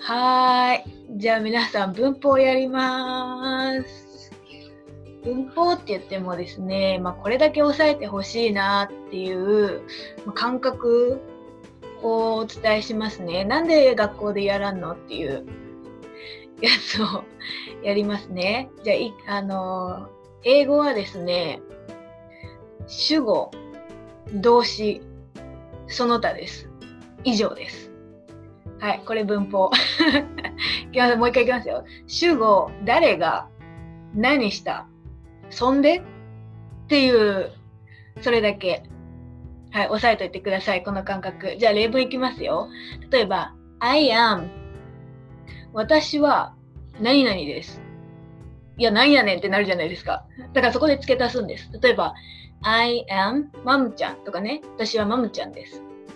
はーい。じゃあ皆さん文法やります。文法って言ってもですね、これだけ押さえてほしいなっていう感覚をお伝えしますね。なんで学校でやらんのっていうやつをやりますね。じゃあ、英語はですね、主語、動詞、その他です。以上です。はい、これ文法。もう一回いきますよ。主語、誰が、何した、そんでっていう、それだけ。はい、押さえといてください、この感覚。じゃあ例文いきますよ。例えば、I am 私は何々です。いや、なんやねんってなるじゃないですか。だからそこで付け足すんです。例えば、I am マムちゃんとかね。私はマムちゃんです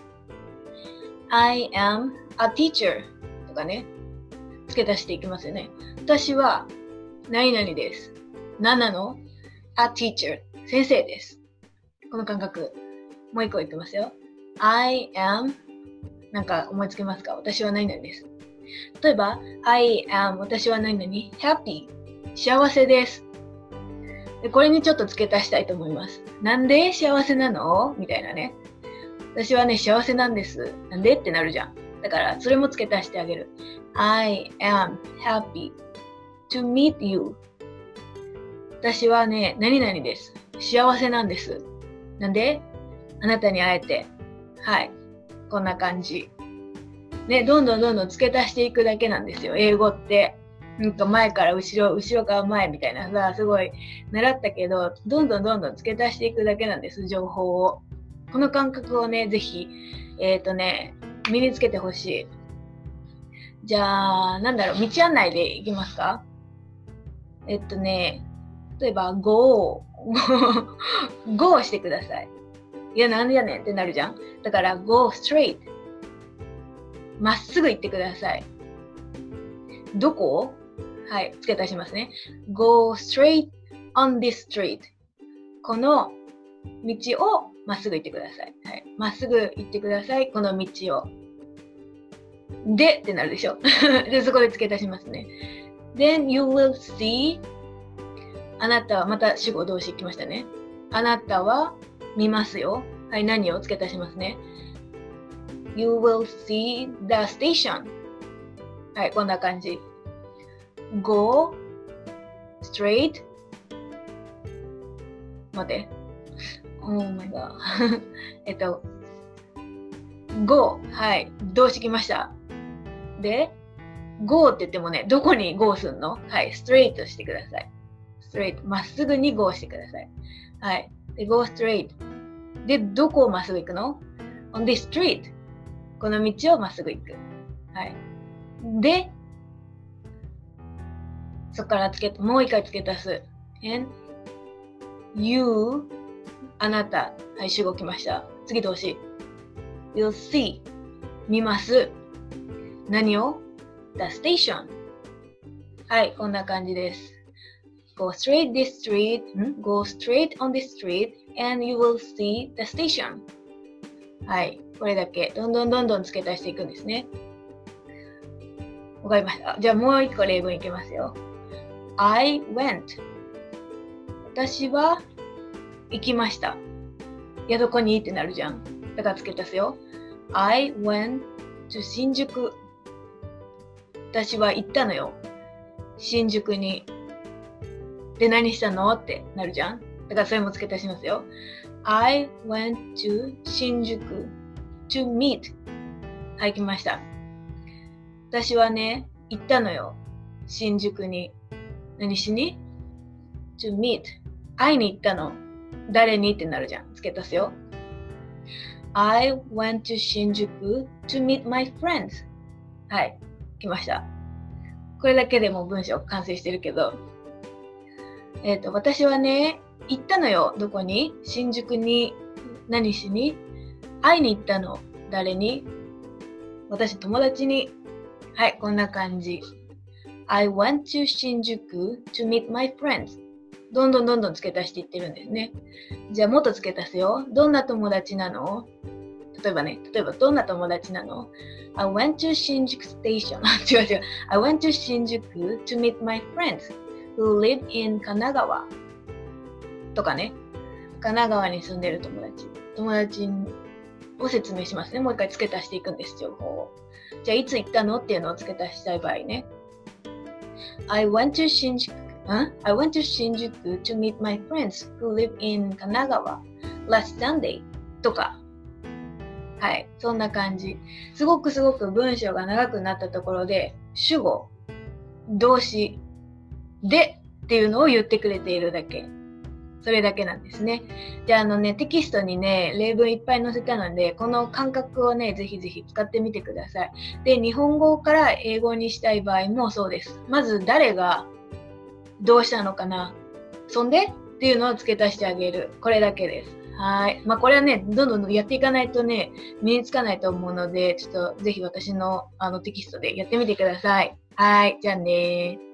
。I am a teacher とかね。付け足していきますよね。私は何々です。何なの？ a teacher 先生です。この感覚。もう一個言ってますよ。I am なんか思いつけますか？私は何々です。例えば、I am 私は何々 happy 幸せです。でこれにちょっと付け足したいと思います。なんで幸せなの？みたいなね。私はね、幸せなんです。なんでってなるじゃん。だから、それも付け足してあげる。I am happy to meet you. 私はね、何々です。幸せなんです。なんであなたに会えて。はい。こんな感じ。ね、どんどん付け足していくだけなんですよ。英語って。前から後ろ、後ろから前みたいなさ、すごい習ったけど、どんどん付け足していくだけなんです、情報を。この感覚をね、ぜひ、身につけてほしい。じゃあ、道案内でいきますか？例えば、go してください。いや、なんでやねんってなるじゃん。だから、go straight。まっすぐ行ってください。どこ？はい、付け足しますね。go straight on this street。この道をまっすぐ行ってください。はい、まっすぐ行ってください。この道を。でってなるでしょ。で、そこで付け足しますね。Then you will see あなたは、また主語動詞来ましたね。あなたは見ますよ。はい、何を付け足しますね。You will see the station。はい、こんな感じ。Go straight 待って。Oh my god go はい、動詞来ました。で、go って言ってもね、どこに go すんの？はい、straight してください。straight まっすぐに go してください。はい。で、go straight。で、どこをまっすぐ行くの？ on this street。この道をまっすぐ行く。はい。で、そこからもう一回付け足す。and you あなた。はい、主語来ました。次動詞。will see 見ます。何を？ the station。はい、こんな感じです。Go straight this street, go straight on this street, and you will see the station. はい、これだけ。どんどん付け足していくんですね。わかりました。じゃあもう一個例文いきますよ。I went. 私は行きました。いや、どこにってなるじゃん。だから付け足すよ。I went to 新宿。私は行ったのよ。新宿に。で、何したのってなるじゃん。だからそれも付け足しますよ。I went to 新宿 to meet。はい、来ました。私はね、行ったのよ。新宿に。何しに？ to meet。会いに行ったの。誰にってなるじゃん。付け足すよ。I went to 新宿 to meet my friends。はい、来ました。これだけでも文章完成してるけど、私はね、行ったのよ。どこに？新宿に。何しに？会いに行ったの。誰に？私、友達に。はい、こんな感じ。I went to 新宿 to meet my friends。どんどん付け足していってるんですね。じゃあもっと付け足すよ。どんな友達なの？ 例えばどんな友達なの？ I went to 新宿 station. 違う。I went to 新宿 to meet my friends who live in 神奈川。とかね。神奈川に住んでる友達を説明しますね。もう一回付け足していくんです、情報を。じゃあ、いつ行ったのっていうのを付け足したい場合ね。I went to 新宿 to meet my friends who live in 神奈川 last Sunday とか。はい、そんな感じ。すごく文章が長くなったところで、主語、動詞、でっていうのを言ってくれているだけ。それだけなんですね。じゃあテキストにね、例文いっぱい載せたので、この感覚をね、ぜひ使ってみてください。で、日本語から英語にしたい場合もそうです。まず誰がどうしたのかな、そんでっていうのを付け足してあげる。これだけです。はい。これはね、どんどんやっていかないとね、身につかないと思うので、ちょっとぜひ私のテキストでやってみてください。はい。じゃあねー。